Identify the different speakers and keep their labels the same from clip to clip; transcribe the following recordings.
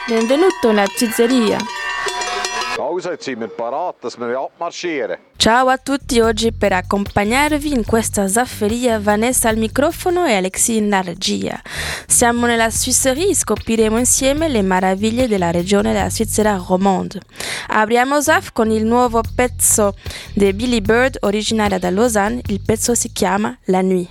Speaker 1: benvenuto nella pizzeria. Ciao a tutti, oggi per accompagnarvi in questa zafferia Vanessa al microfono e Alexis in regia. Siamo nella Suisserie e scopriremo insieme le meraviglie della regione della Svizzera romande. Apriamo ZAF con il nuovo pezzo di Billy Bird, originaria da Lausanne. Il pezzo si chiama La Nuit.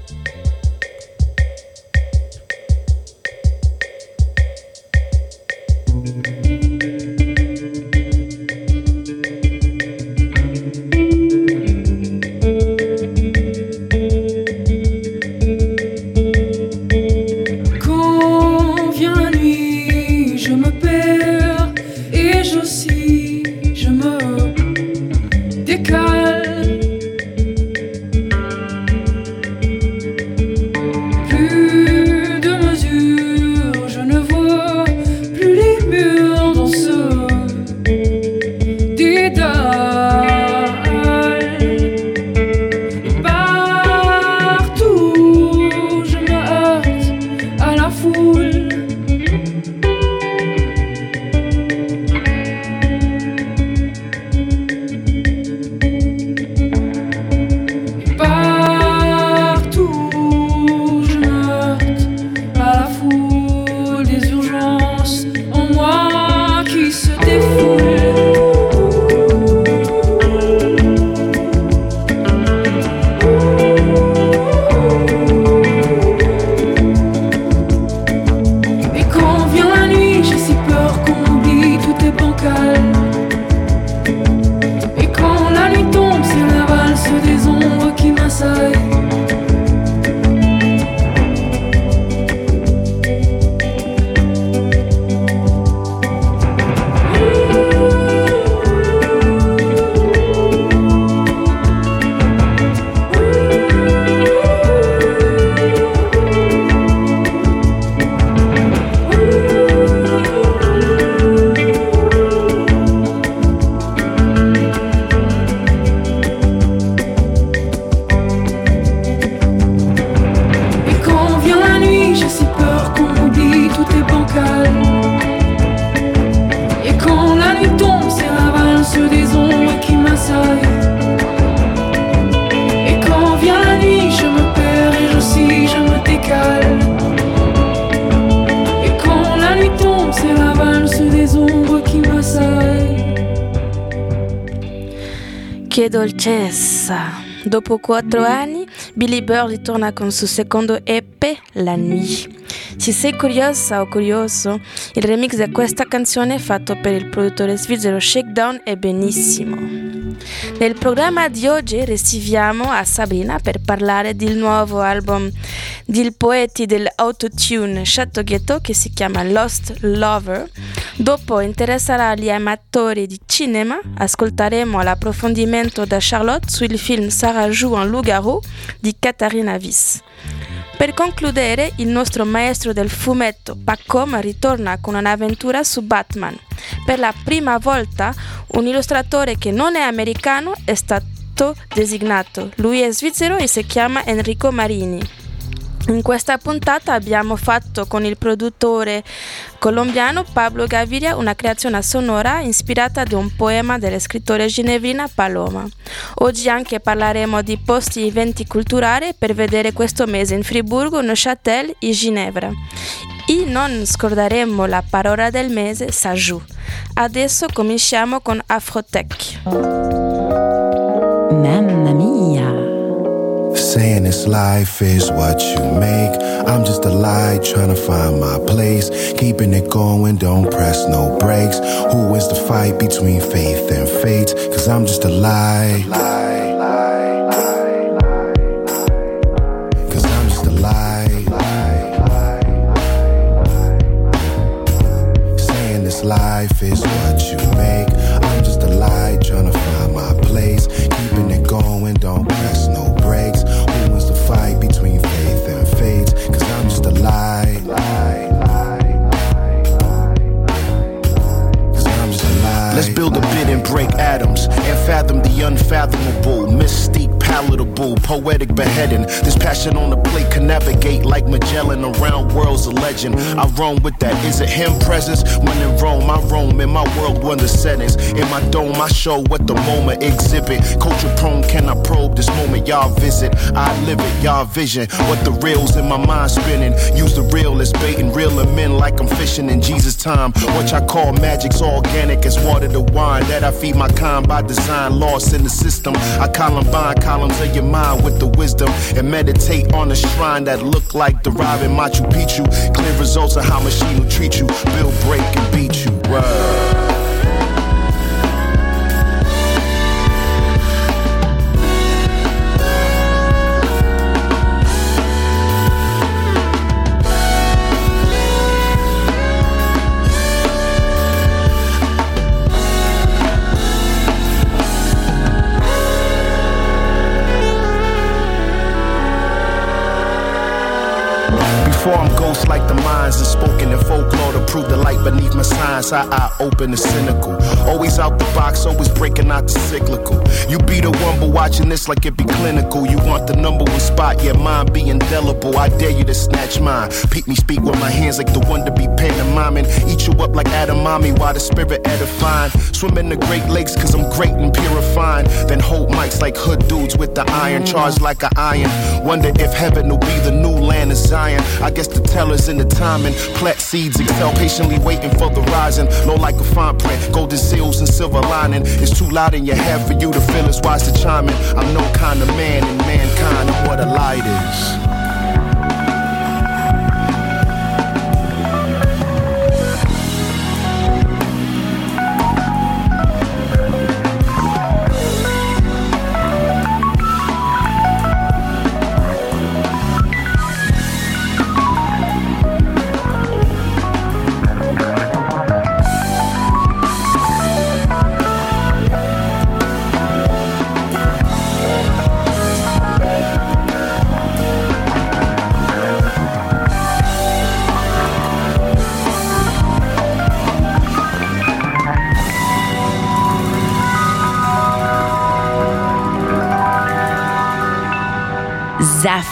Speaker 1: Che dolcezza! Dopo 4 anni, Billy Bird ritorna con il suo secondo EP, La Nuit. Se sei curiosa o curioso, il remix di questa canzone fatto per il produttore svizzero Shakedown è benissimo. Nel programma di oggi riceviamo a Sabrina per parlare del nuovo album del poeta dell'autotune Chateau Ghetto che si chiama Lost Lover. Dopo interesserà gli amatori di cinema, ascolteremo l'approfondimento da Charlotte sul film Sarah joue un loup-garou di Katharina Wiss. Per concludere, il nostro maestro del fumetto Pacom ritorna con un'avventura su Batman. Per la prima volta un illustratore che non è americano è stato designato. Lui è svizzero e si chiama Enrico Marini. In questa puntata abbiamo fatto con il produttore colombiano Pablo Gaviria una creazione sonora ispirata da un poema della scrittrice genevrina Paloma. Oggi anche parleremo di posti e eventi culturali per vedere questo mese in Friburgo, Neuchâtel e Ginevra. E non scorderemo la parola del mese, Sajou. Adesso cominciamo con Afrotech.
Speaker 2: Mamma mia!
Speaker 3: Saying this life is what you make. I'm just a light trying to find my place. Keeping it going, don't press no brakes. Who wins the fight between faith and fate? Cause I'm just a light. Cause I'm just a light. Saying this life is what you make. I'm just a light trying to find my place. Keeping it going, don't press no brakes. Who wants to fight between faith and fate? Cause I'm just a light. Cause I'm just a light.
Speaker 4: Let's build a bit and break atoms and fathom the unfathomable.
Speaker 3: great beheading. This passion on the plate can navigate like Magellan around worlds of legend. I roam with that. Is it him presence? When in Rome, I roam in my world wonder settings. In my dome, I show what the moment exhibit. Culture prone, can I probe this moment y'all visit? I live it, y'all vision. What the real's in my mind spinning. Use the real as bait and reel them in like I'm fishing in Jesus' time. What I call magic's organic as water to wine. That I feed my kind by design, lost in the system. I combine columns of your mind with the wisdom and meditate on a shrine that look like deriving Machu Picchu. Clear results of how machine will treat you. Build, break, and beat you. Word. Before I'm ghost like the minds and spoken in folklore to prove the light beneath my signs. I open the cynical. Always out the box, always breaking out the cyclical. You be the one, but watching this like it be clinical. You want the number one spot, yeah, mine be indelible. I dare you to snatch mine. Peek me speak with my hands like the one to be pantomiming. Eat you up like Adamami while the spirit edifying. Swim in the Great Lakes cause I'm great and purifying. Then hold mics like hood dudes with the iron. Charged like an iron. Wonder if heaven will be the new land of Zion. I guess the teller's in the timing. Plant seeds excel, patiently waiting for the rising. Low like a fine print, golden seals and silver lining. It's too loud in your head for you to feel it's wise to chime in. I'm no kind of man in mankind and what a light is.
Speaker 2: Zaf.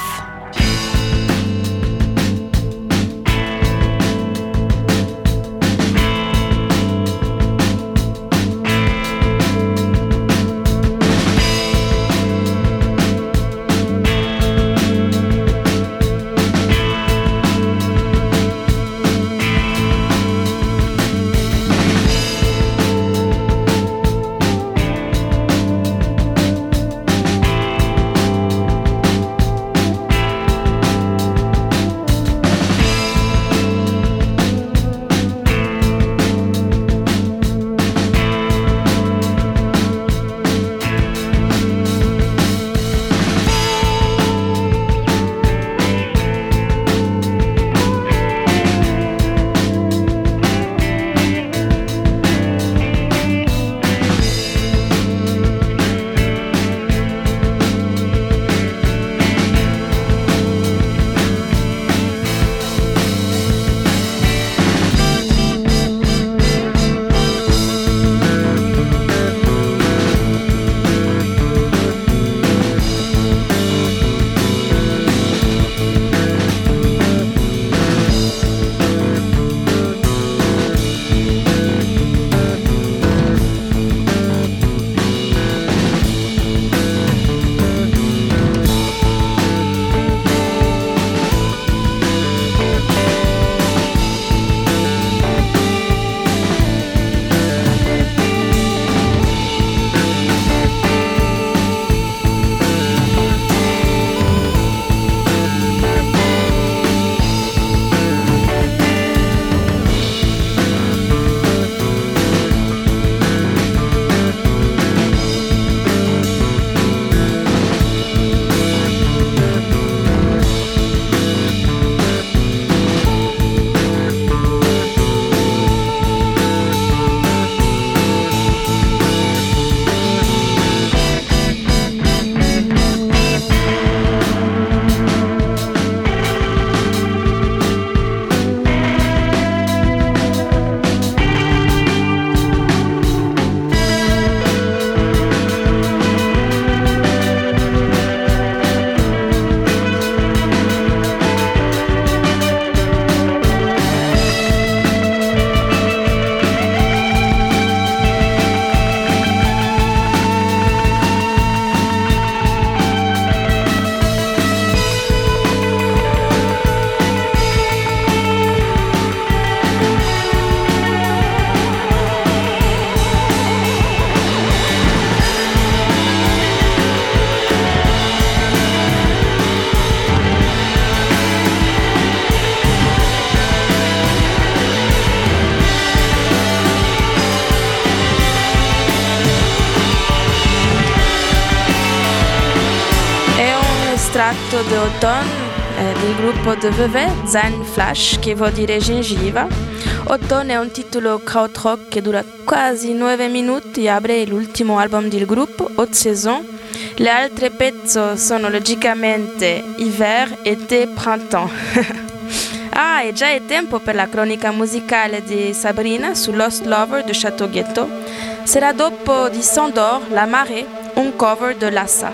Speaker 1: tratto di Automne del gruppo de Vevey, Zen Flash, che vuol dire gengiva. Automne è un titolo krautrock che dura quasi 9 minuti e apre l'ultimo album del gruppo, Haute Saison. Le altre pezzi sono logicamente Hiver, Été, Printemps. E già è tempo per la cronica musicale di Sabrina su Lost Lover de Château Ghetto. Sarà dopo di Sandor, La Marée, un cover de Lassa.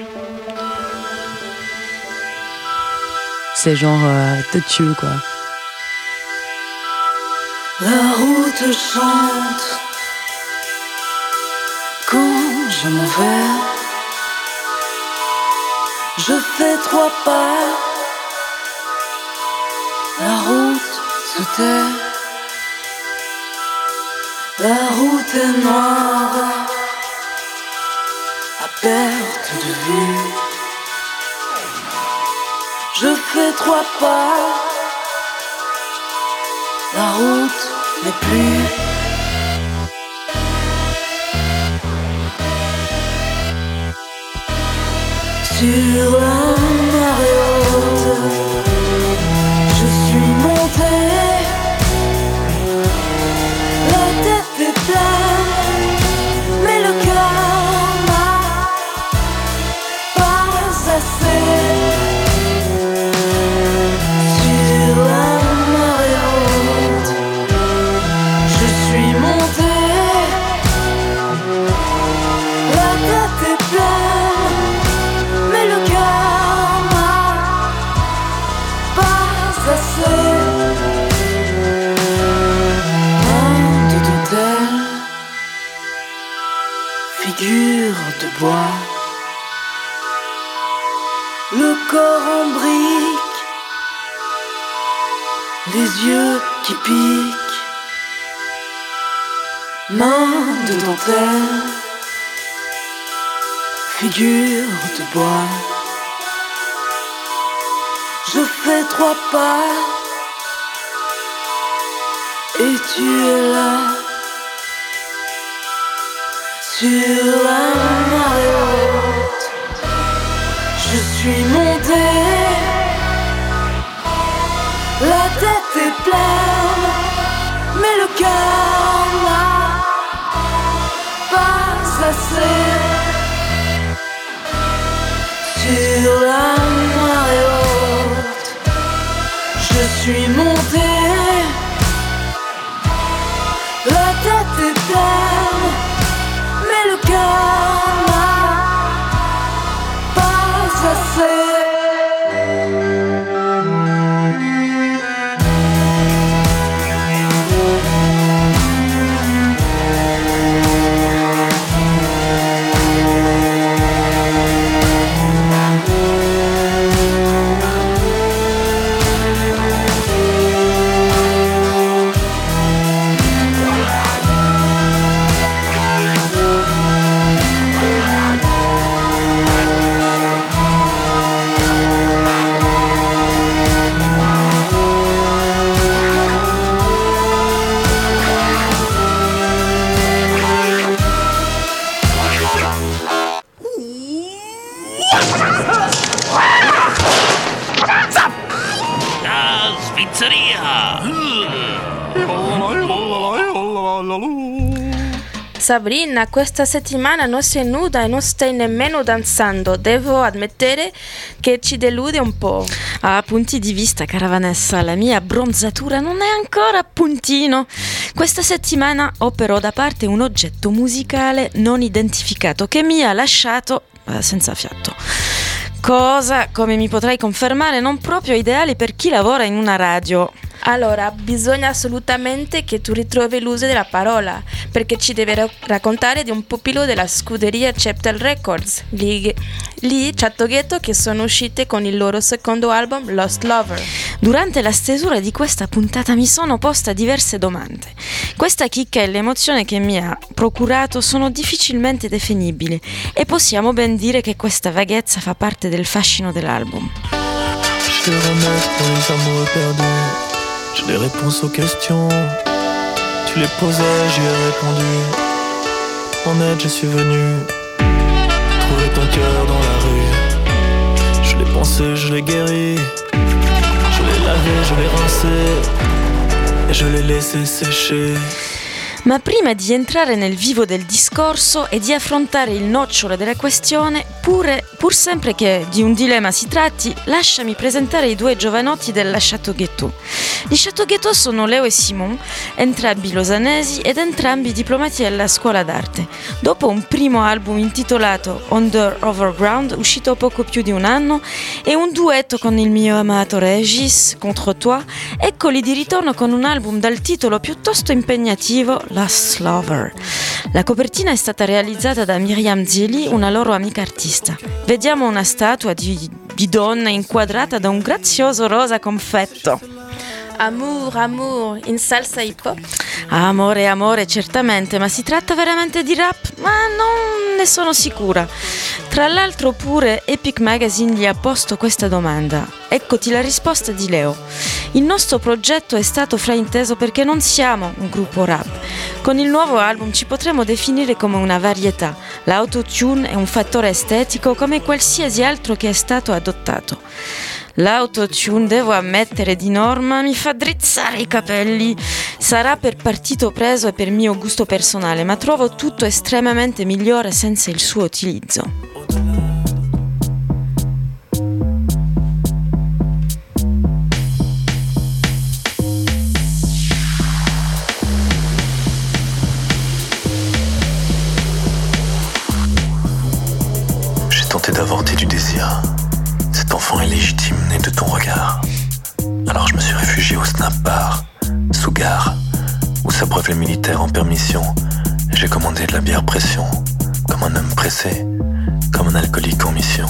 Speaker 2: C'est genre têtu quoi.
Speaker 4: La route chante quand je m'en vais. Je fais 3 pas, la route se tait. La route est noire, à perte de vue. Je fais 3 pas, la route n'est plus. Sur la marée haute, je suis monté. La tête est pleine, mais le cœur n'a pas assez. Sur la marée haute, je suis monté. La tête est pleine, mais le cœur n'a pas assez. Main de dentelle, figure de bois, le corps en brique, les yeux qui piquent. Main de dentelle, figure de bois. Je fais 3 pas et tu es là. Sur la marée haute, je suis monté. La tête est pleine, mais le cœur n'a pas assez. Sur la marée haute, je suis monté. La tête est pleine, mais le cœur n'a pas assez.
Speaker 1: Sabrina, questa settimana non sei nuda e non stai nemmeno danzando. Devo ammettere che ci delude un po'.
Speaker 2: A punti di vista, cara Vanessa, la mia bronzatura non è ancora a puntino. Questa settimana ho però da parte un oggetto musicale non identificato che mi ha lasciato senza fiato. Cosa, come mi potrai confermare, non proprio ideale per chi lavora in una radio.
Speaker 1: Allora, bisogna assolutamente che tu ritrovi l'uso della parola, perché ci devi raccontare di un pupillo della scuderia Cheptel Records, lì Château Ghetto, che sono uscite con il loro secondo album Lost Lover.
Speaker 2: Durante la stesura di questa puntata mi sono posta diverse domande. Questa chicca e l'emozione che mi ha procurato sono difficilmente definibili e possiamo ben dire che questa vaghezza fa parte del fascino dell'album.
Speaker 5: Je te remets pour les amours perdus. J'ai des réponses aux questions. Tu les posais, j'y ai répondu. En aide, je suis venu trouver ton cœur dans la rue. Je je l'ai pensé, je l'ai guéri. Je l'ai lavé, je l'ai rincé e je l'ai laissé sécher.
Speaker 2: Ma prima di entrare nel vivo del discorso e di affrontare il nocciolo della questione, pur sempre che di un dilemma si tratti, lasciami presentare i due giovanotti della Chateau-Guettot. Gli Chateau-Guettot sono Leo e Simon, entrambi losanesi ed entrambi diplomati della scuola d'arte. Dopo un primo album intitolato Under Overground, uscito poco più di un anno, e un duetto con il mio amato Regis, Contre Toi, eccoli di ritorno con un album dal titolo piuttosto impegnativo, Last Lover. La copertina è stata realizzata da Miriam Zili, una loro amica artista. Vediamo una statua di donna inquadrata da un grazioso rosa confetto.
Speaker 1: Amour, amour, in salsa hip hop.
Speaker 2: Amore, amore, certamente, ma si tratta veramente di rap? Ma non ne sono sicura. Tra l'altro pure Epic Magazine gli ha posto questa domanda. Eccoti la risposta di Leo. Il nostro progetto è stato frainteso perché non siamo un gruppo rap. Con il nuovo album ci potremo definire come una varietà. L'autotune è un fattore estetico come qualsiasi altro che è stato adottato. L'autotune, devo ammettere, di norma mi fa drizzare i capelli. Sarà per partito preso e per mio gusto personale, ma trovo tutto estremamente migliore senza il suo utilizzo.
Speaker 5: J'ai tenté d'avorter du désir. Cet enfant illégitime né de ton regard. Alors je me suis réfugié au Snap Bar, sous gare, où s'abreuvent les militaires en permission. Et j'ai commandé de la bière pression, comme un homme pressé, comme un alcoolique en mission.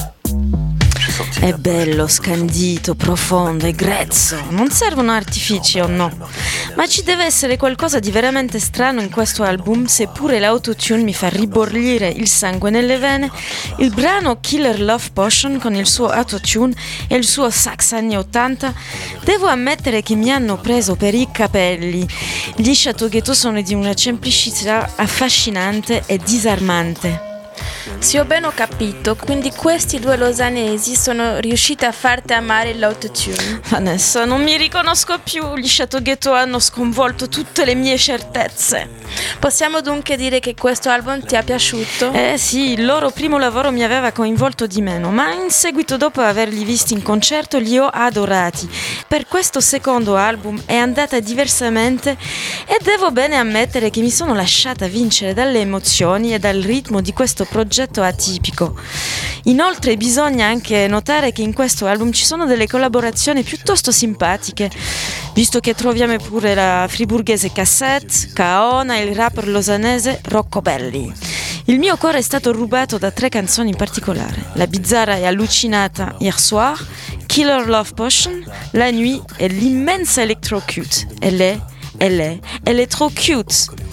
Speaker 2: È bello, scandito, profondo e grezzo. Non servono artifici o no? Ma ci deve essere qualcosa di veramente strano in questo album, seppure l'autotune mi fa ribollire il sangue nelle vene. Il brano Killer Love Potion con il suo autotune e il suo sax anni 80, devo ammettere che mi hanno preso per i capelli. Gli Chateau-Guettot sono di una semplicità affascinante e disarmante.
Speaker 1: Se ho ben ho capito, quindi questi due losanesi sono riusciti a farti amare l'autotune.
Speaker 2: Vanessa, non mi riconosco più. Gli Chateau-Guettot hanno sconvolto tutte le mie certezze.
Speaker 1: Possiamo dunque dire che questo album ti è piaciuto?
Speaker 2: Sì, il loro primo lavoro mi aveva coinvolto di meno, ma in seguito, dopo averli visti in concerto, li ho adorati. Per questo secondo album è andata diversamente e devo bene ammettere che mi sono lasciata vincere dalle emozioni e dal ritmo di questo progetto atipico. Inoltre bisogna anche notare che in questo album ci sono delle collaborazioni piuttosto simpatiche, visto che troviamo pure la friburghese Cassette, Kaona e il rapper losanese Rocco Belli. Il mio cuore è stato rubato da 3 canzoni in particolare: La bizzarra e allucinata Hier Soir, Killer Love Potion, La Nuit e l'immensa Electro Cute. Elle è trop cute.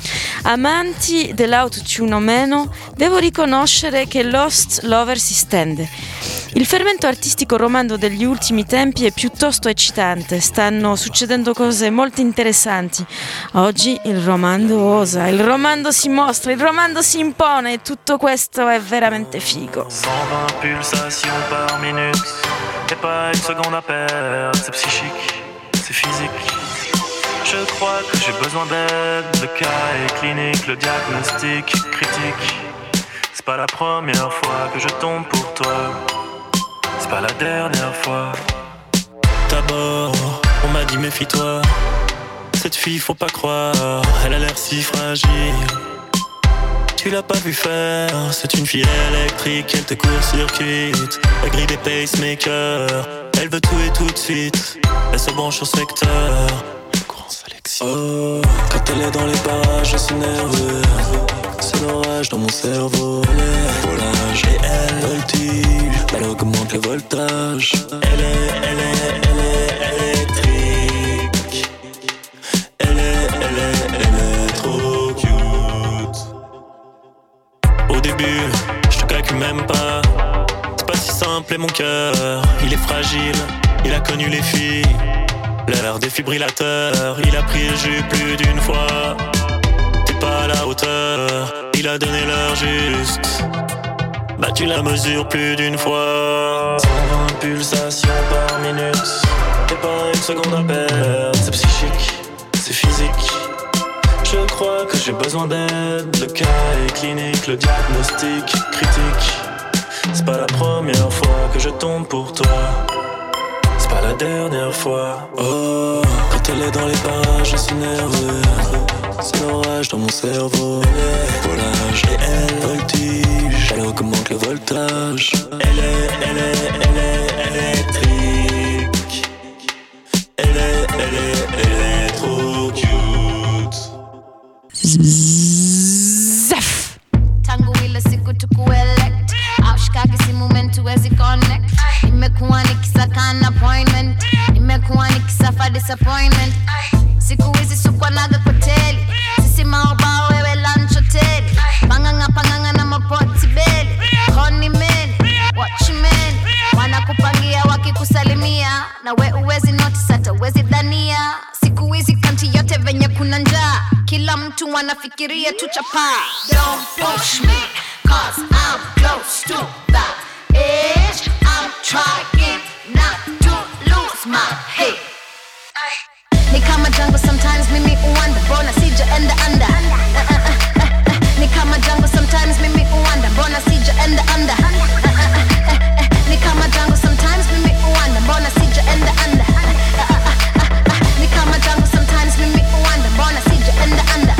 Speaker 2: Amanti dell'autotune o meno, devo riconoscere che Lost Lover si stende. Il fermento artistico romando degli ultimi tempi è piuttosto eccitante, stanno succedendo cose molto interessanti. Oggi il romando osa, il romando si mostra, il romando si impone e tutto questo è veramente figo.
Speaker 5: 120 pulsations par minute, et pas une seconde à perdre, c'est psychique, c'est physique. Je crois que j'ai besoin d'aide, le cas est clinique, le diagnostic critique. C'est pas la première fois que je tombe pour toi, c'est pas la dernière fois. D'abord, on m'a dit méfie-toi, cette fille faut pas croire, elle a l'air si fragile. Tu l'as pas vu faire, c'est une fille électrique, elle te court-circuite, la grille des pacemakers, elle veut tout et tout de suite, elle se branche au secteur. Oh, quand elle est dans les parages, c'est nerveux. C'est l'orage dans mon cerveau. Volage et elle voltige, elle augmente le voltage. Elle est électrique. Elle est trop cute. Au début, je te calcule même pas. C'est pas si simple et mon cœur, il est fragile. Il a connu les filles. L'heure défibrillateur, il a pris le jus plus d'une fois. T'es pas à la hauteur, il a donné l'heure juste. Battu la mesure plus d'une fois. 120 pulsations par minute. Et pas une seconde à perdre. C'est psychique, c'est physique. Je crois que j'ai besoin d'aide. Le cas est clinique, le diagnostic critique. C'est pas la première fois que je tombe pour toi. C'est pas la dernière fois. Oh, quand elle est dans les parages, je suis nerveux. C'est l'orage dans mon cerveau. Volage et elle voltige. Elle augmente le voltage. Elle est électrique. Elle est trop cute.
Speaker 1: Zaf!
Speaker 6: Tango ile siku tukuelect. Aushikage si moment tuwezi connect. Nimekuwa nikisaka an appointment. Nimekuwa nikisafa disappointment. Siku hizi sukwanaga kwa teli. Sisi maobao wewe lunch hoteli. Panganga na mapoti beli. Koni meni, watch meni. Wanakupangia wakikusalimia. Na we uwezi notice hata uwezi dhania. Siku hizi kanti yote venye kuna njaa. Kila mtu wanafikiria tu chapa. Don't push me, cause I'm close to that edge. I'm trying not to lose my head. Ni kama jungle sometimes mimi uwanda. Mbona sijaenda under. Ni kama jungle sometimes mimi uwanda. Mbona sijaenda under. Ni kama jungle sometimes mimi uwanda. Mbona sijaenda under. Ni kama jungle sometimes mimi uwanda. Mbona sijaenda under.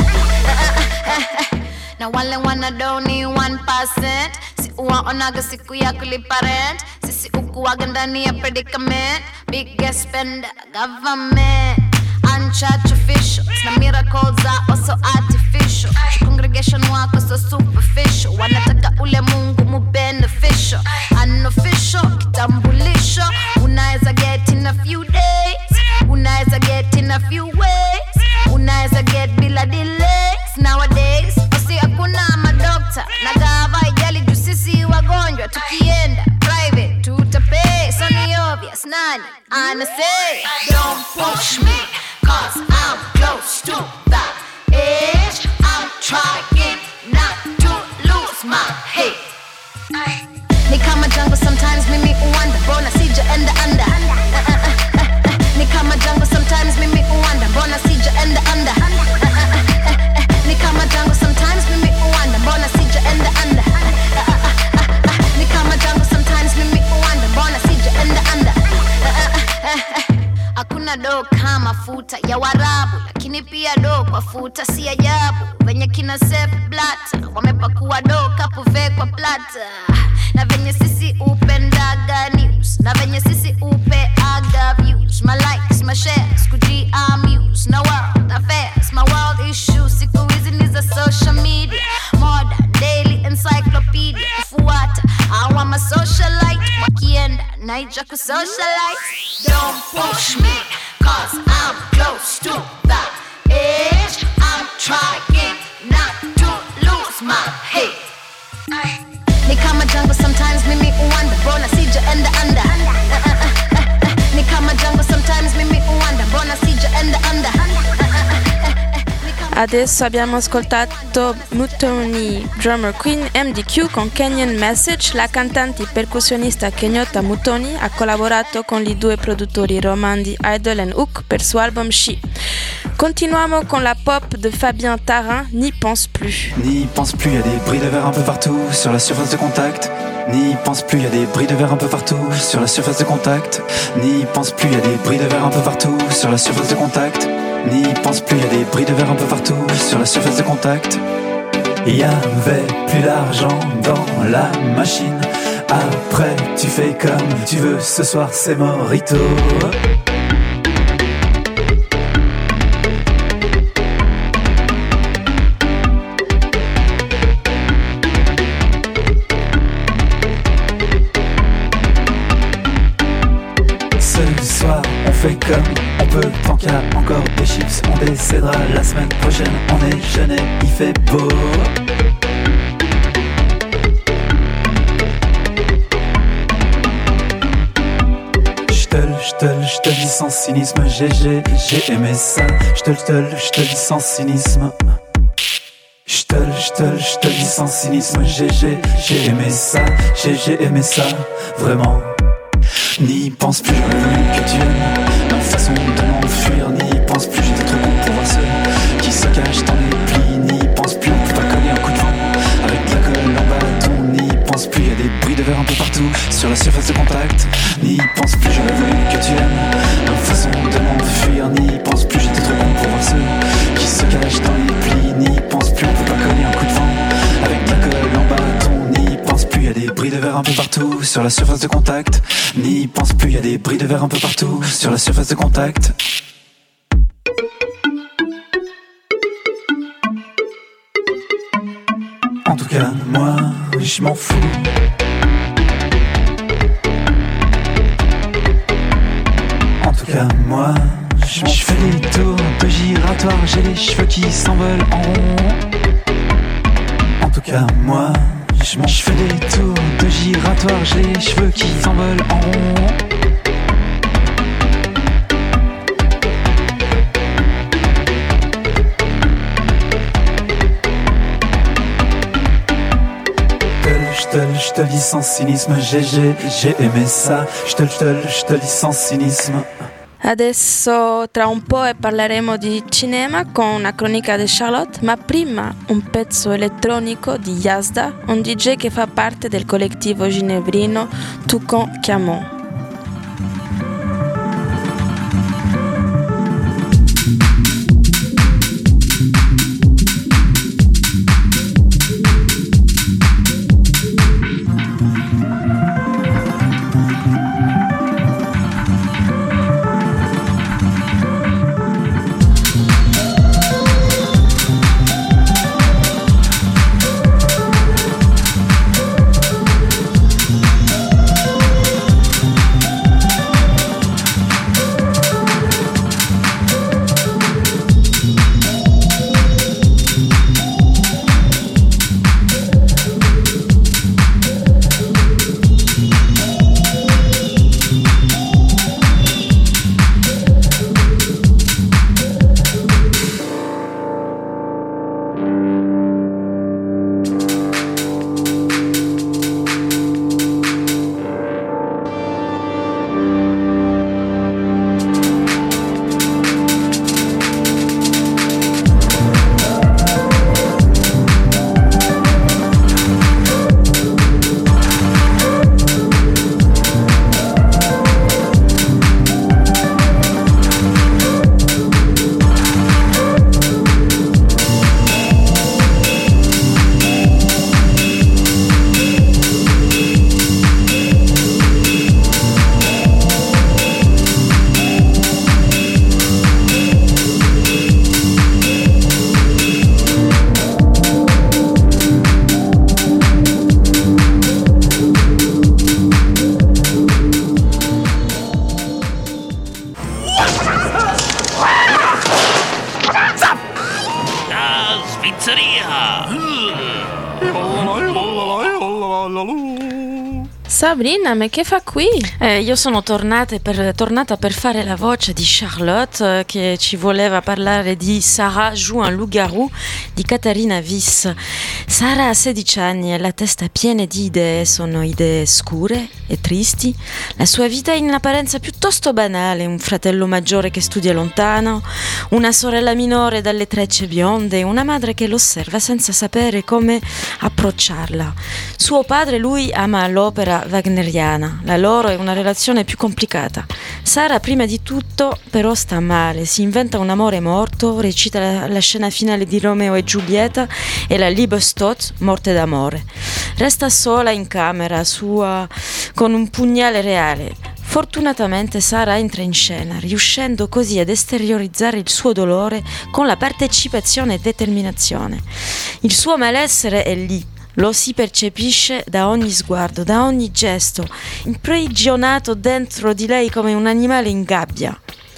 Speaker 6: Na wale wanadoni 1%. Si uwaonaga siku ya kulipa rent. Sisi ukuwaga ndani ya predicament. Biggest spender government. Unchurch officials. Na miracles are also artificial. Congregation wako so superficial. Wanataka ule Mungu mu beneficial. Unofficial kitambulisho. Unaeza get in a few days. Unaeza get in a few ways. Unaeza get bila delays. Nowadays osi hakuna madokta. Na gava ijali juu sisi wagonjwa. Tukienda private tutapay. So ni obvious nani ana say. Don't push me, cause I'm close to that edge. I'm trying not to lose my head. Ni kama jungle sometimes mimi uwanda. Mbona sijaenda under. Ni kama jungle sometimes mimi uwanda. Mbona sijaenda under. Ni kama jungle sometimes mimi uwanda. Mbona sijaenda under. Ni kama jungle sometimes mimi uwanda. Mbona sijaenda under. Hakuna do kama futa ya Warabu, lakini pia do kwa futa si ajabu. Venye kina Sepp Blatter wamepakua do kapuve kwa plata. Na venye sisi upendaga news. Na venye sisi upeaga views. My likes, my shares, kuji amuse. No world affairs, my world issues. Siku hizi ni za social media. Modern, daily encyclopedia. Kufuata, hawa ma socialite. Wakienda, naija kusocialite. Don't push me, cause I'm close to that edge. I'm trying not to lose my head. Ni kama jungle sometimes mimi uwanda. Mbona sijaenda under. Ni kama jungle sometimes mimi uwanda. Mbona sijaenda under.
Speaker 1: Adesso abbiamo ascoltato Mutoni Drummer Queen MDQ con Kenyan Message. La cantante e percussionista kenyota Mutoni ha collaborato con i due produttori romandi Idol e Hook per suo album She. Continuiamo con la pop de Fabien Tarin, N'y pense plus.
Speaker 7: N'y pense plus, y a des bris de verre un peu partout sur la surface de contact. N'y pense plus, y a des bris de verre un peu partout sur la surface de contact. N'y pense plus, y a des bris de verre un peu partout sur la surface de contact. N'y pense plus, y a des bris de verre un peu partout sur la surface de contact. Il y avait plus d'argent dans la machine. Après tu fais comme tu veux, ce soir c'est Morito. On fait comme on peut, tant qu'il y a encore des chips. On décédera la semaine prochaine. On est jeune et il fait beau. Je te dis sans cynisme. J'ai aimé ça. Je te dis sans cynisme. Je te dis sans cynisme. J'ai aimé ça. J'ai aimé ça. Vraiment. N'y pense plus, j'aurais voulu que tu aimes ma façon de m'enfuir. N'y pense plus, j'étais trop bon pour voir ceux qui se cachent dans les plis. N'y pense plus, on peut pas coller un coup de vent avec de la colle en bâton. N'y pense plus, y a des bris de verre un peu partout sur la surface de contact. N'y pense plus, j'aurais voulu que tu aimes ma façon de m'enfuir. N'y pense plus, j'étais trop bon pour voir ceux qui se cachent dans les plis. N'y pense plus, on peut pas coller un coup de vent avec de la colle en bâton. N'y pense plus, y a des bris de verre un peu partout sur la surface de contact. N'y pense plus, y a des bris de verre un peu partout sur la surface de contact. En tout cas, moi, je m'en fous. En tout cas, moi, je fais des tours de giratoire, j'ai les cheveux qui s'envolent en rond. En tout cas, moi, je fais des tours de giratoire, j'ai les cheveux qui s'envolent en rond. Je te le dis sans cynisme, j'ai aimé ça. Je te le dis sans cynisme.
Speaker 1: Adesso tra un po' parleremo di cinema con una cronica di Charlotte, ma prima un pezzo elettronico di Yazda, un DJ che fa parte del collettivo ginevrino Toucan Camon. Sabrina, ma che fa qui?
Speaker 2: Io sono tornata per fare la voce di Charlotte che ci voleva parlare di Sarah joue un loup-garou di Katharina Wiss. Sarah ha 16 anni e la testa piena di idee, sono idee scure e tristi. La sua vita è in apparenza piuttosto banale, un fratello maggiore che studia lontano, una sorella minore dalle trecce bionde, una madre che lo osserva senza sapere come approcciarla. Suo padre, lui, ama l'opera wagneriana, la loro è una relazione più complicata. Sarah prima di tutto però sta male, si inventa un amore morto, recita la scena finale di Romeo e Giulietta e la Liebestod, morte d'amore. Resta sola in camera sua con un pugnale reale. Fortunatamente Sarah entra in scena, riuscendo così ad esteriorizzare il suo dolore con la partecipazione e determinazione. Il suo malessere è lì. Lo si percepisce da ogni sguardo, da ogni gesto, imprigionato dentro di lei come un animale in gabbia.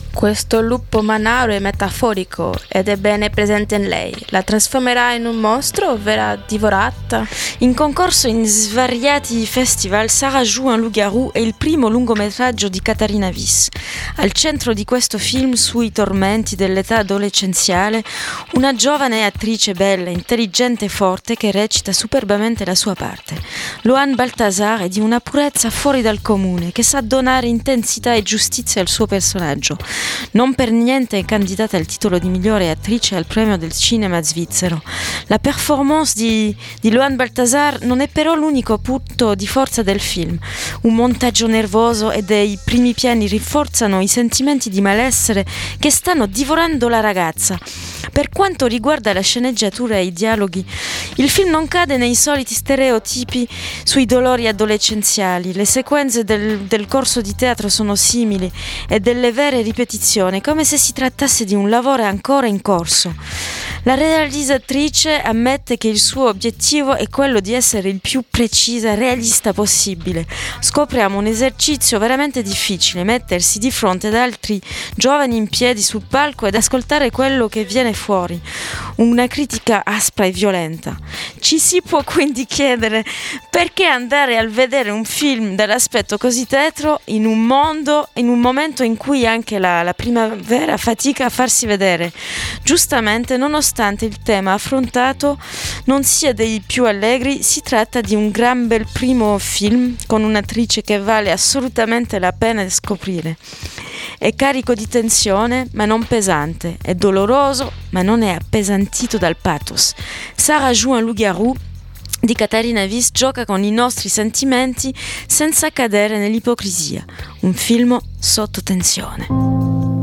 Speaker 1: Questo lupo manaro è metaforico ed è bene presente in lei. La trasformerà in un mostro o verrà divorata?
Speaker 2: In concorso in svariati festival, Sarah joue un loup-garou è il primo lungometraggio di Katharina Wiss. Al centro di questo film sui tormenti dell'età adolescenziale, una giovane attrice bella, intelligente e forte che recita superbamente la sua parte. Loan Balthazar è di una purezza fuori dal comune, che sa donare intensità e giustizia al suo personaggio. Non per niente è candidata al titolo di migliore attrice al premio del cinema svizzero. La performance di Loan Balthazar non è però l'unico punto di forza del film. Un montaggio nervoso e dei primi piani rinforzano i sentimenti di malessere che stanno divorando la ragazza. Per quanto riguarda la sceneggiatura e i dialoghi, il film non cade nei soliti stereotipi sui dolori adolescenziali. Le sequenze del corso di teatro sono simili e delle vere ripetizioni, come se si trattasse di un lavoro ancora in corso. La realizzatrice ammette che il suo obiettivo è quello di essere il più precisa e realista possibile. Scopriamo un esercizio veramente difficile, mettersi di fronte ad altri giovani in piedi sul palco ed ascoltare quello che viene fuori. Una critica aspra e violenta. Ci si può quindi chiedere perché andare a vedere un film dall'aspetto così tetro in un momento in cui anche la primavera fatica a farsi vedere. Giustamente, nonostante il tema affrontato non sia dei più allegri, si tratta di un gran bel primo film con un'attrice che vale assolutamente la pena di scoprire. È carico di tensione ma non pesante, è doloroso ma non è appesantito dal pathos. Sarah joue un loup-garou di Katharina Wiss gioca con i nostri sentimenti senza cadere nell'ipocrisia. Un film sotto tensione.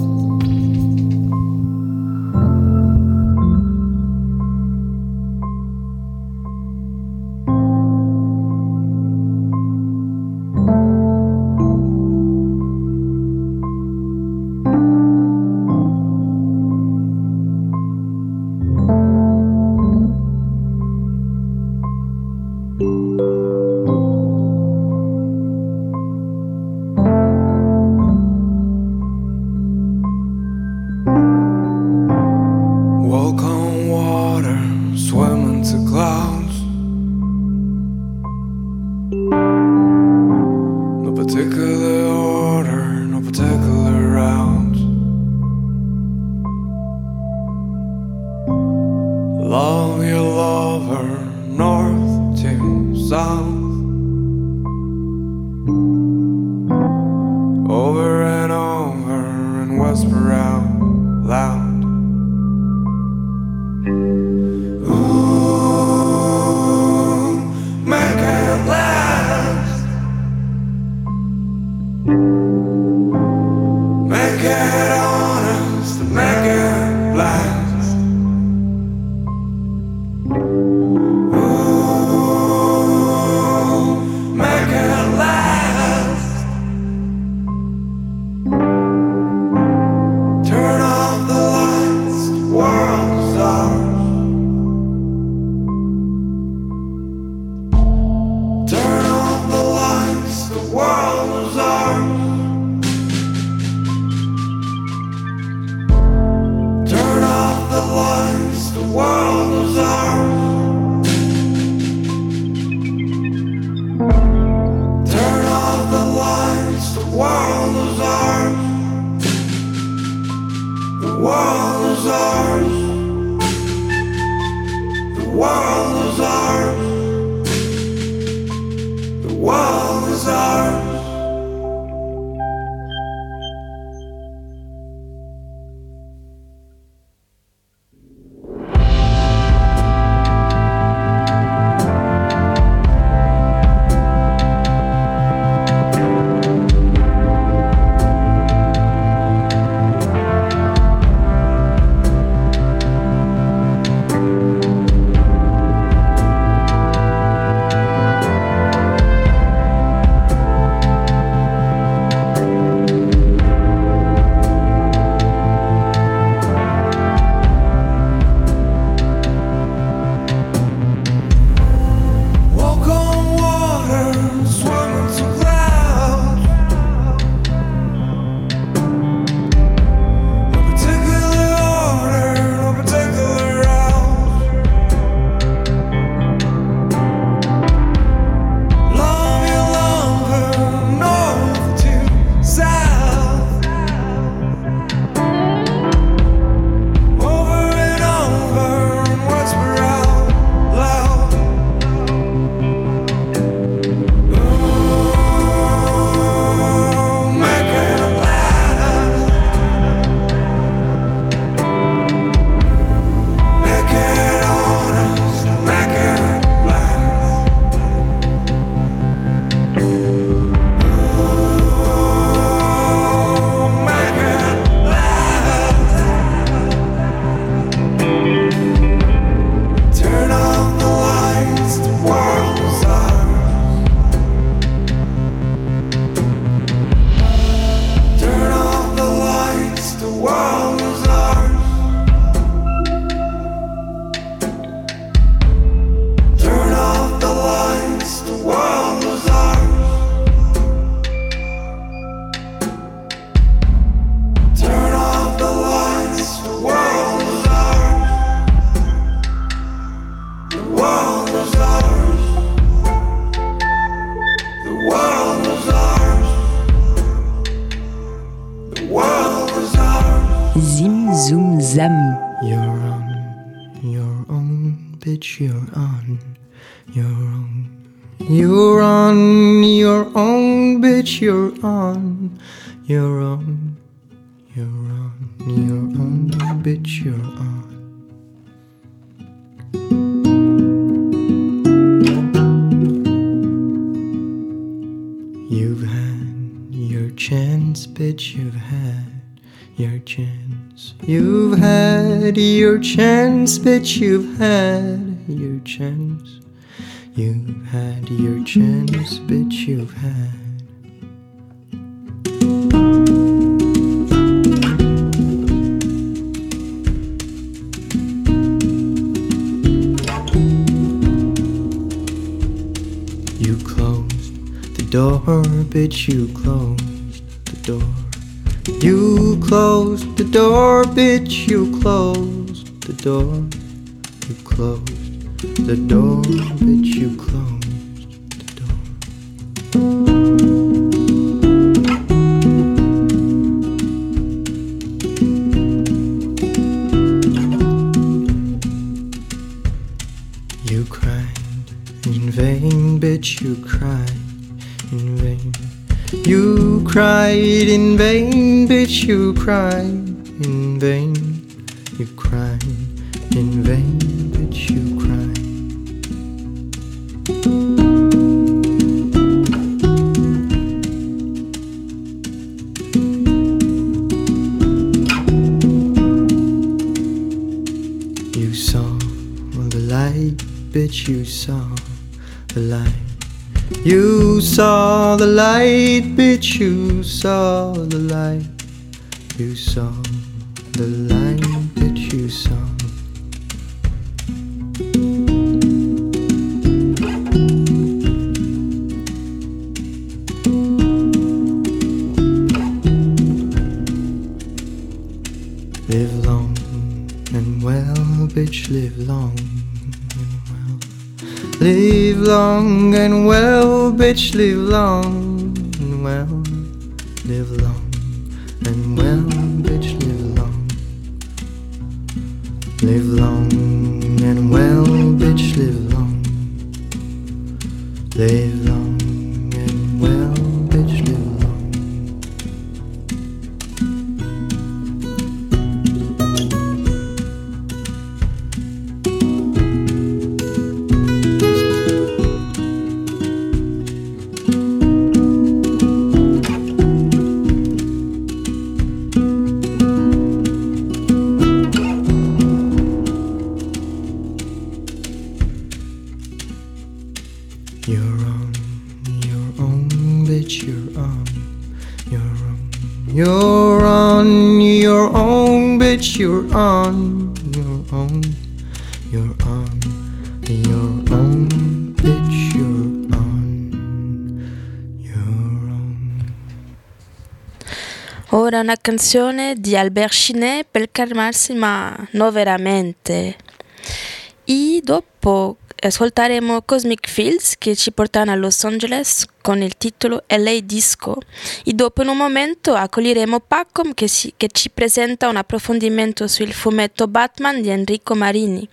Speaker 8: Love your lover, north to south, over and over and whisper out loud. Ooh, make it last, make it honest, make it last.
Speaker 9: Zim Zoom Zam.
Speaker 10: You're on your own, bitch, you're on your own. You're on your own, bitch, you're on your own. You're on your own, bitch, you're on. You've had your chance, bitch, you've had your chance. You've had your chance, bitch, you've had your chance. You've had your chance, bitch, you've had. You closed the door, bitch, you closed the door. You closed the door, bitch, you closed the door. You closed the door, bitch, you closed the door. You cried in vain, bitch, you cried in vain. You cried in vain, bitch, you cried in vain. You cried in vain, bitch, you cried. You saw the light, bitch, you saw the light. You saw the light, bitch, you saw the light. You saw the light, bitch, you saw. Live long and well, bitch, live long and well. Live long and well, bitch, live long and well. Live long and well, bitch, live long. Live long and well, bitch, live long. Live long and well, bitch, live long. You're on your own, bitch, you're on your own. You're on your own, bitch, you're on your own. You're on your own, bitch, you're on your own.
Speaker 1: Ora una canzone di Albert Chinet per calmarsi, ma non veramente. E dopo ascolteremo Cosmic Fields che ci portano a Los Angeles con il titolo LA Disco e dopo in un momento accoglieremo Pacom che ci presenta un approfondimento sul fumetto Batman di Enrico Marini.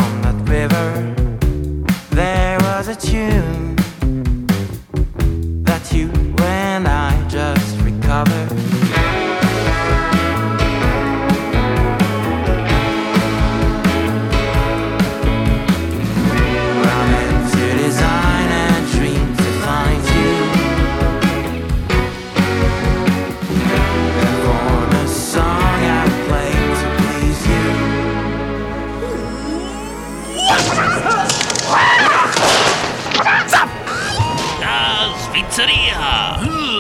Speaker 11: on that river, there was a tune that you and I just recovered. We're meant to design and dream to find you, and form a song I play to please you.
Speaker 12: La Svizzeria!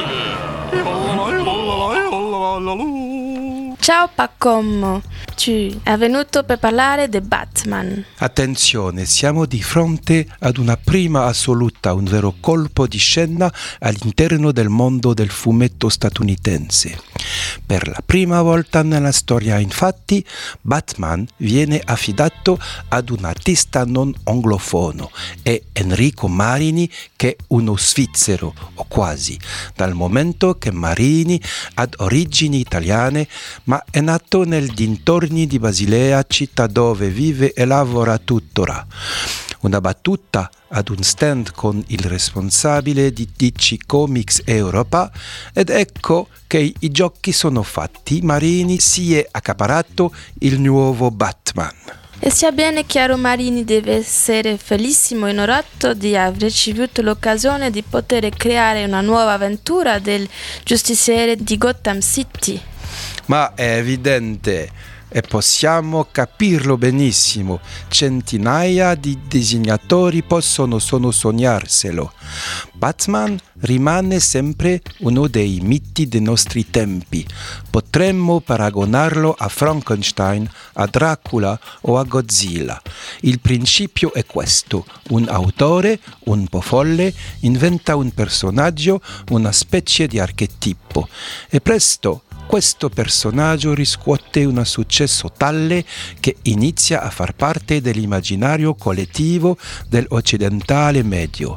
Speaker 1: Ciao Pacommo, tu è venuto per parlare di Batman.
Speaker 13: Attenzione, siamo di fronte ad una prima assoluta, un vero colpo di scena all'interno del mondo del fumetto statunitense. Per la prima volta nella storia, infatti, Batman viene affidato ad un artista non anglofono, è Enrico Marini, che è uno svizzero, o quasi, dal momento che Marini ha origini italiane, ma è nato nel dintorni di Basilea, città dove vive e lavora tuttora. Una battuta ad un stand con il responsabile di DC Comics Europa, ed ecco che i giochi sono fatti. Marini si è accaparato il nuovo Batman.
Speaker 1: E sia bene chiaro, Marini deve essere felicissimo e onorato di aver ricevuto l'occasione di poter creare una nuova avventura del giustiziere di Gotham City.
Speaker 13: Ma è evidente, e possiamo capirlo benissimo, centinaia di disegnatori possono solo sognarselo. Batman rimane sempre uno dei miti dei nostri tempi. Potremmo paragonarlo a Frankenstein, a Dracula o a Godzilla. Il principio è questo: un autore, un po' folle, inventa un personaggio, una specie di archetipo, e presto questo personaggio riscuote un successo tale che inizia a far parte dell'immaginario collettivo dell'occidentale medio.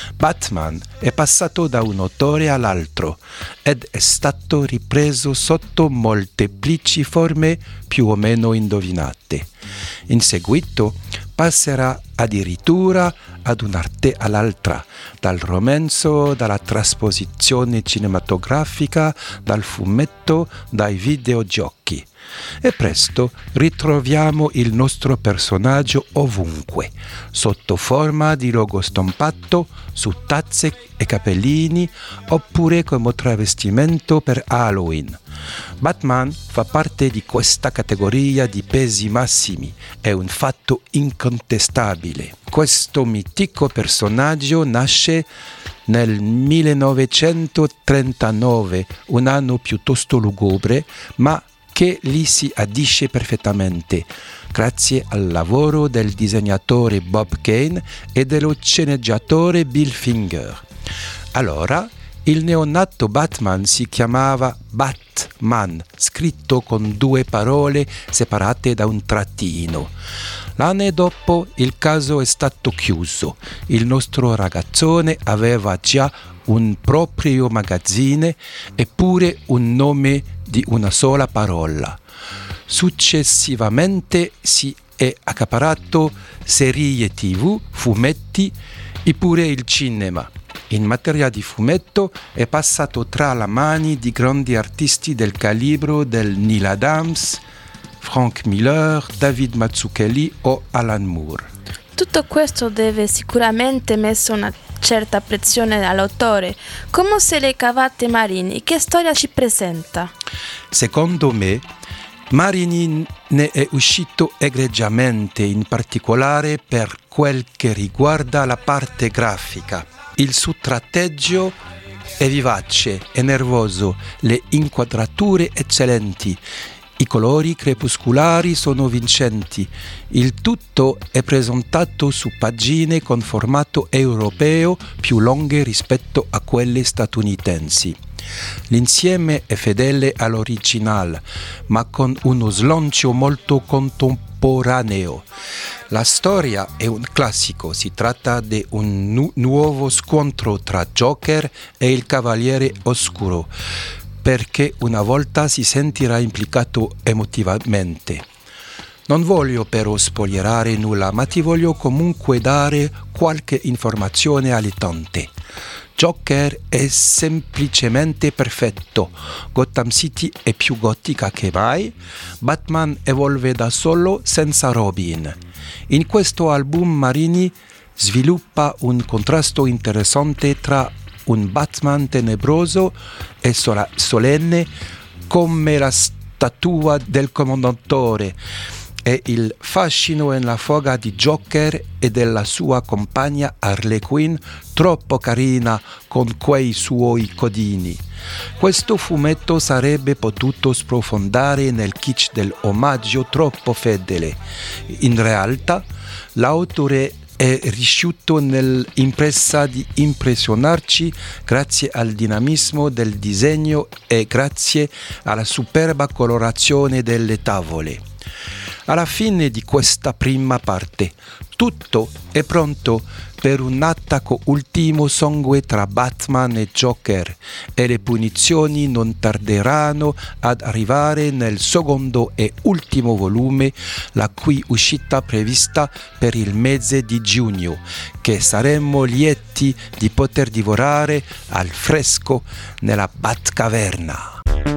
Speaker 13: Batman è passato da un autore all'altro ed è stato ripreso sotto molteplici forme più o meno indovinate. In seguito passerà addirittura ad un'arte all'altra, dal romanzo, dalla trasposizione cinematografica, dal fumetto, dai videogiochi. E presto ritroviamo il nostro personaggio ovunque, sotto forma di logo stampato su tazze e cappellini, oppure come travestimento per Halloween. Batman fa parte di questa categoria di pesi massimi, è un fatto incontestabile. Questo mitico personaggio nasce nel 1939, un anno piuttosto lugubre, ma che lì si addice perfettamente, grazie al lavoro del disegnatore Bob Kane e dello sceneggiatore Bill Finger. Allora, il neonato Batman si chiamava Batman, scritto con 2 parole separate da un trattino. L'anno dopo il caso è stato chiuso. Il nostro ragazzone aveva già un proprio magazzine e pure un nome di una sola parola. Successivamente si è accaparato serie TV, fumetti e pure il cinema. In materia di fumetto è passato tra le mani di grandi artisti del calibro del Neil Adams, Frank Miller, David Mazzucchelli o Alan Moore.
Speaker 1: Tutto questo deve sicuramente messo una certa pressione all'autore. Come se le cavate Marini? Che storia ci presenta?
Speaker 13: Secondo me, Marini ne è uscito egregiamente, in particolare per quel che riguarda la parte grafica. Il suo tratteggio è vivace e nervoso, le inquadrature eccellenti, i colori crepuscolari sono vincenti. Il tutto è presentato su pagine con formato europeo più lunghe rispetto a quelle statunitensi. L'insieme è fedele all'originale, ma con uno slancio molto contemporaneo. La storia è un classico, si tratta di un nuovo scontro tra Joker e il Cavaliere Oscuro, perché una volta si sentirà implicato emotivamente. Non voglio però spoilerare nulla, ma ti voglio comunque dare qualche informazione all'utente. Joker è semplicemente perfetto, Gotham City è più gotica che mai, Batman evolve da solo senza Robin. In questo album Marini sviluppa un contrasto interessante tra un Batman tenebroso e solenne come la statua del Commendatore e il fascino e la foga di Joker e della sua compagna Harley Quinn, troppo carina con quei suoi codini. Questo fumetto sarebbe potuto sprofondare nel kitsch dell'omaggio troppo fedele. In realtà, l'autore è riuscito nell'impresa di impressionarci grazie al dinamismo del disegno e grazie alla superba colorazione delle tavole. Alla fine di questa prima parte, tutto è pronto per un attacco ultimo sangue tra Batman e Joker e le punizioni non tarderanno ad arrivare nel secondo e ultimo volume, la cui uscita prevista per il mese di giugno, che saremmo lieti di poter divorare al fresco nella Batcaverna.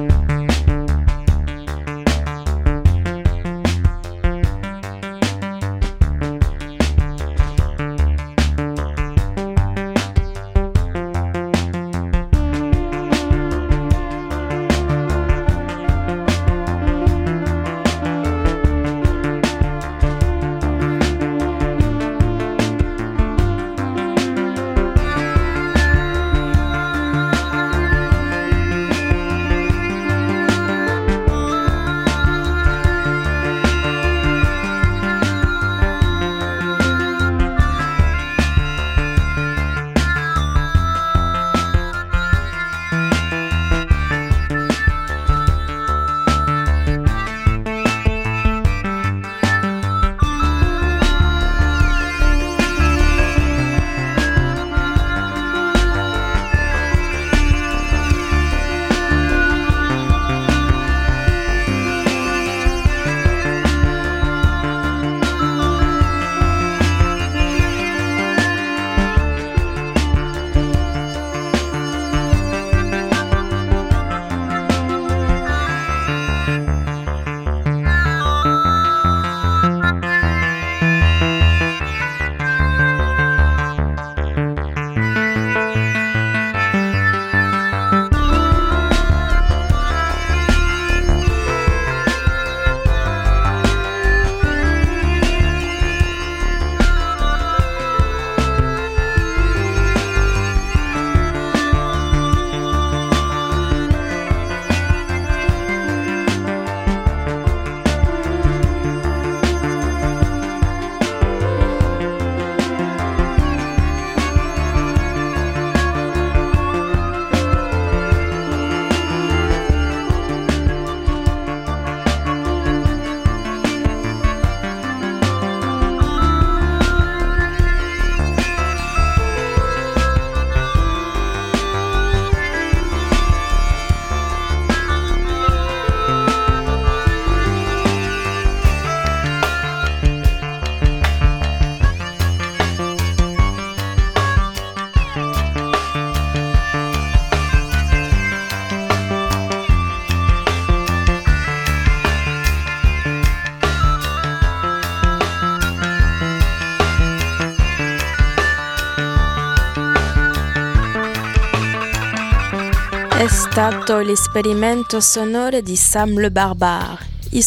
Speaker 1: È stato l'esperimento sonoro di Sam le Barbare.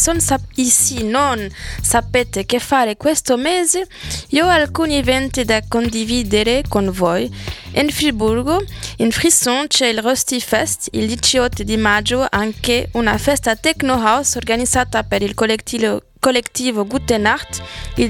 Speaker 1: Se non sapete che fare questo mese, io ho alcuni eventi da condividere con voi. In Friburgo, in Frisson, c'è il Rusty Fest, il 18 di maggio, anche una festa techno house organizzata per il collettivo Gute Nacht, il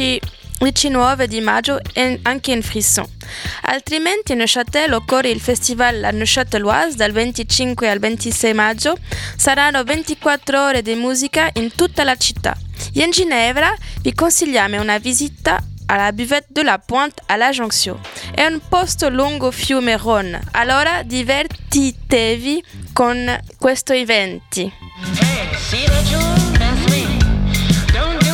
Speaker 1: 19 di maggio anche in Frisson. Altrimenti a Neuchâtel occorre il festival La Neuchâteloise dal 25 al 26 maggio. Saranno 24 ore di musica in tutta la città. E in Ginevra vi consigliamo una visita alla buvette de la Pointe à la Jonction. È un posto lungo fiume Rhône. Allora divertitevi con questo eventi.
Speaker 14: Hey, see that you? That's me. Don't do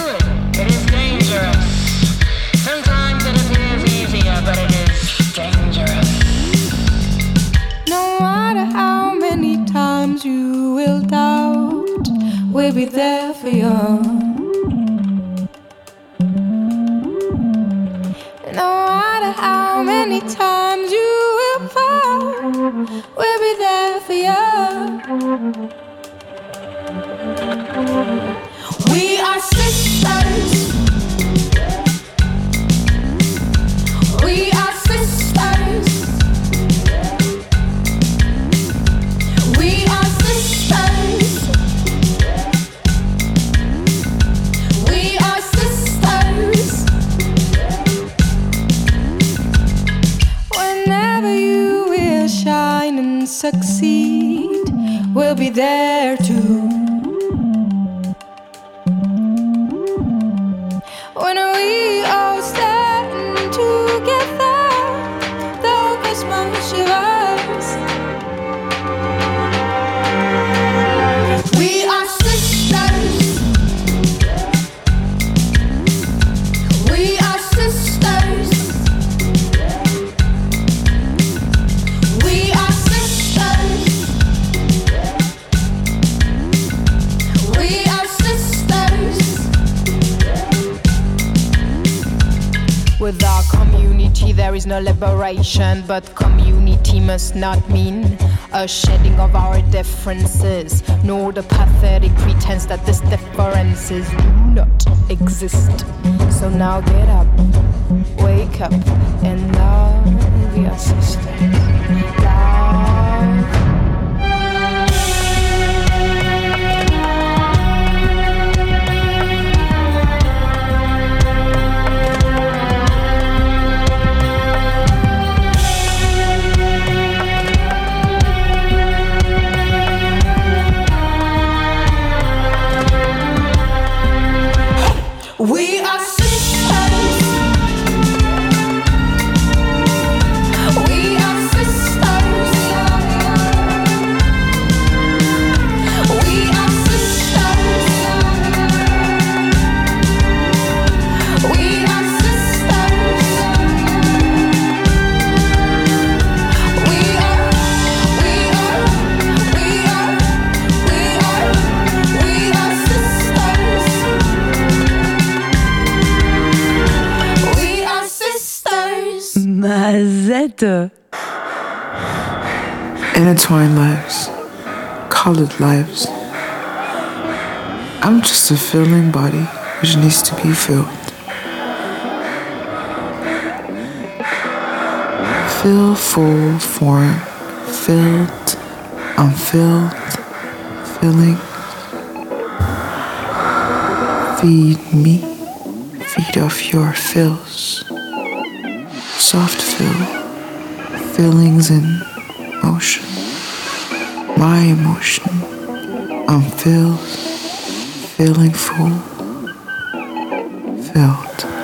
Speaker 4: we'll be there for you. No matter how many times you will fall, we'll be there for you. We are sisters. We are sisters. We are sisters. We are sisters. Whenever you will shine and succeed, we'll be there too. When we all stand together, though Christmas shivers. We are sisters. We are sisters. We are sisters. We are sisters. With our community there is no liberation, but community must not mean a shedding of our differences, nor the pathetic pretense that these differences do not exist. So now get up, wake up, and love your sisters. Love. We are sisters. We are sisters. We are sisters. We are sisters. We are sisters.
Speaker 9: Mazette.
Speaker 14: Intertwined lives, colored lives. I'm just a filling body which needs to be filled. Fill, full, form, filled, unfilled, filling. Feed me, feed off your fills. Soft fill, feelings in motion. My emotion, unfilled, feeling full, filled.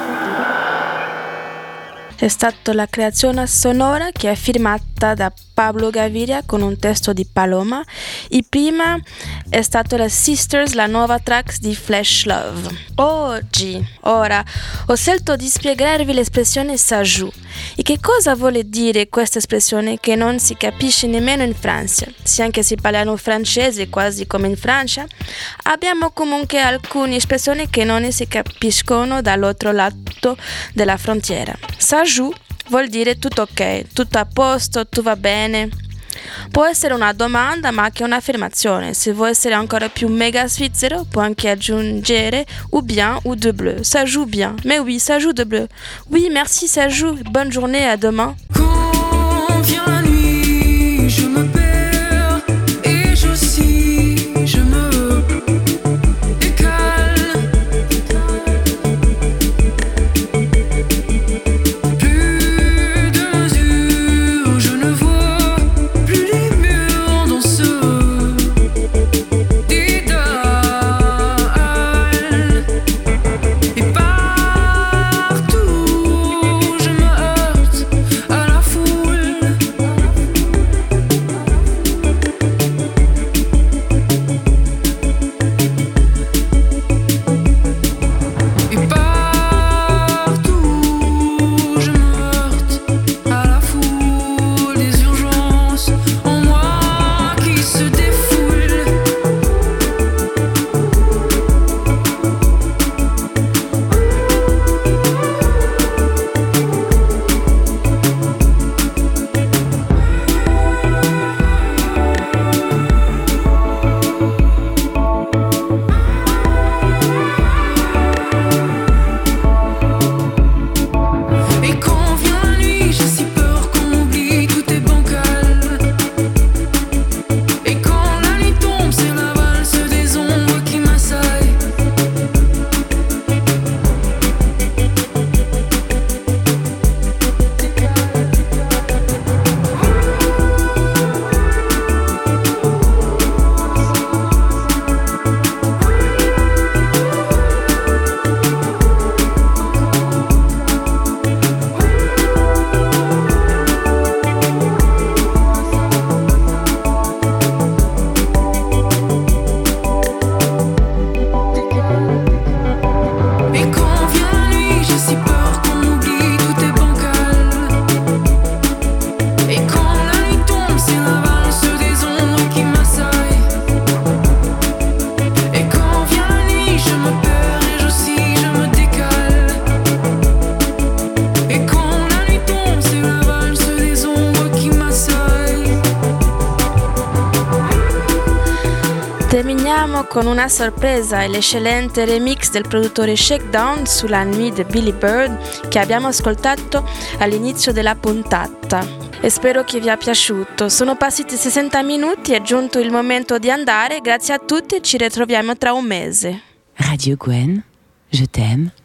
Speaker 1: È stata la creazione sonora che è firmata da Pablo Gaviria con un testo di Paloma e prima è stata la Sisters, la nuova track di Flesh Love. Ora, ho scelto di spiegarvi l'espressione sajou. E che cosa vuole dire questa espressione che non si capisce nemmeno in Francia? Se anche si parlano francese quasi come in Francia, abbiamo comunque alcune espressioni che non si capiscono dall'altro lato della frontiera. Sajou vuol dire tutto ok, tutto a posto, tutto va bene. Può essere una domanda ma anche un'affermazione. Se vuoi essere ancora più mega svizzero puoi anche aggiungere ou bien ou de bleu. Ça joue bien. Mais oui, ça joue de bleu. Oui, merci, ça joue. Bonne journée, à demain.
Speaker 4: Quand vient la nuit, je me perds et je me écale. Plus de mesure, je ne vois plus les murs dans ce dédale. Et partout, je me heurte à la
Speaker 1: con una sorpresa e l'eccellente remix del produttore Shakedown sulla Nuit di Billy Bird che abbiamo ascoltato all'inizio della puntata. E spero che vi sia piaciuto. Sono passati 60 minuti, è giunto il momento di andare. Grazie a tutti, ci ritroviamo tra un mese.
Speaker 15: Radio Gwen, je t'aime.